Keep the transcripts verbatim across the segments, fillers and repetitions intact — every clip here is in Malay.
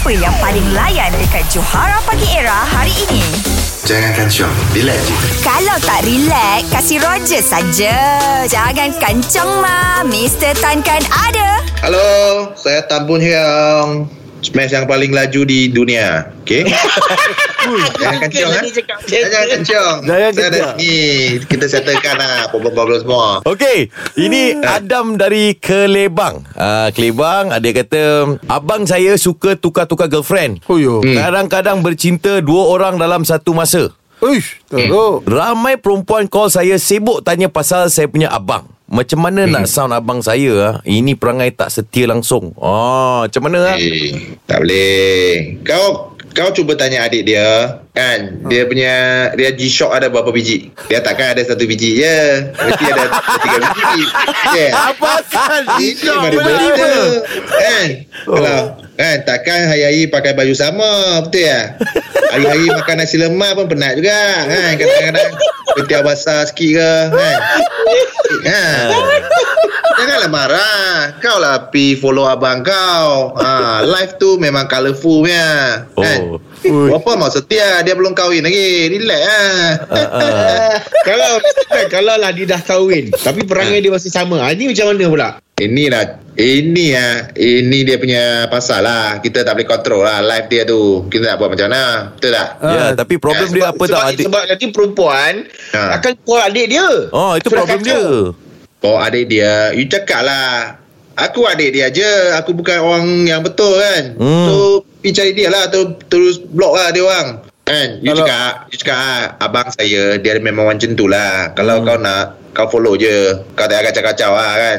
Siapa yang paling layan dekat Johara Pagi Era hari ini? Jangan kancang, relax je. Kalau tak relax, kasih Roger saja. Jangan kancang mah, Mister Tan kan ada. Halo, saya Tan Boon Hiang, Smash yang paling laju di dunia. Okay? Jangan kencang ha? Jangan kencang. Jangan Saya ada kencang. ni, kita settlekan lah problem-problem semua. Okey, ini Adam dari Kelebang. Uh, Kelebang, ada kata, abang saya suka tukar-tukar girlfriend. Oh yo. Hmm. Kadang-kadang bercinta dua orang dalam satu masa. Uish, teruk. Ramai perempuan call saya sibuk tanya pasal saya punya abang. Macam mana hmm. nak sound abang saya ah? Ini perangai tak setia langsung. Oh, macam mana ah? Eh, tak boleh. Kau kau cuba tanya adik dia, kan? Dia punya dia G-Shock ada berapa biji? Dia takkan ada satu biji je. Mesti ada tiga biji. Yeah. Apa asal G-Shock mana benda? Kan? Kalau kan takkan hari-hari pakai baju sama, betul ya? Hari-hari makan nasi lemak pun penat juga, kan? Kadang-kadang ketiak basah sikit ke, kan? Kan? Janganlah marah. Kau lah pi follow abang kau. Ha, live tu memang colourful punya. Kan? Oh. Berapa mau setia? Dia belum kahwin lagi. Relax lah. Uh, uh. Kalau kan, kalau lah dia dah kahwin tapi perangai dia masih sama. Ha, ini macam mana pula? Inilah Ini lah Ini dia punya pasal lah. Kita tak boleh kontrol lah live dia tu. Kita nak buat macam mana? Betul tak? Ya, tapi problem Ya, dia sebab- apa sebab, tak adik? sebab nanti perempuan Ha. akan call adik dia. Oh, itu Sudah problem kacau. dia. Oh, adik dia, you cakap lah, aku adik dia je, aku bukan orang yang betul kan. Hmm. So pergi cari dia lah, tu, terus block lah dia orang kan. You Kalau- cakap You cakap ah, abang saya dia memang macam tu lah. Kalau Hmm. kau nak, kau follow je. Kau tak kacau-kacau lah kan.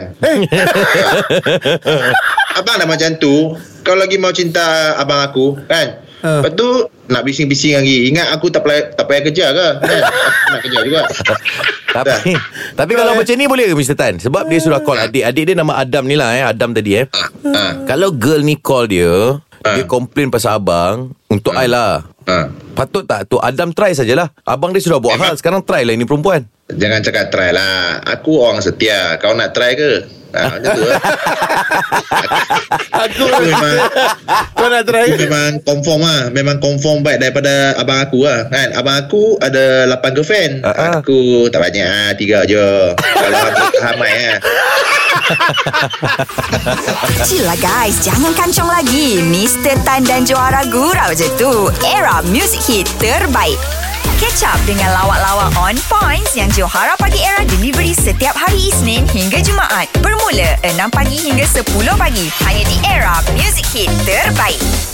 Abang dah macam tu, kau lagi mau cinta abang aku kan. Ha. Lepas tu nak bising-bising lagi. Ingat aku tak payah, tak payah kerja ke kan? Aku nak kerja juga. Tapi tapi kalau macam ni boleh ke Mister Tan? Sebab dia sudah call adik. Adik dia nama Adam ni lah eh. Adam tadi eh. Ha. Kalau girl ni call dia, Ha. dia komplain pasal abang, untuk I lah. Ha. Patut tak tu Adam try sajalah. Abang dia sudah buat hal, sekarang try lah ini perempuan. Jangan cakap try lah. Aku orang setia. Kau nak try ke? Ha, macam tu lah. Aku Aku memang kau nak try? Aku memang confirm lah. Memang confirm baik daripada abang aku lah kan. Abang aku ada lapan girlfriend. Uh-uh. Aku tak banyak lah. Tiga je. Kalau aku ramai lah. Chill lah guys, jangan kancang lagi. Mister Tan dan Johara gurau je tu. Era music hit terbaik. Catch up dengan lawak-lawak on points yang Johara Pagi Era delivery setiap hari Isnin hingga Jumaat. Bermula enam pagi hingga sepuluh pagi. Hanya di Era Music Hit terbaik.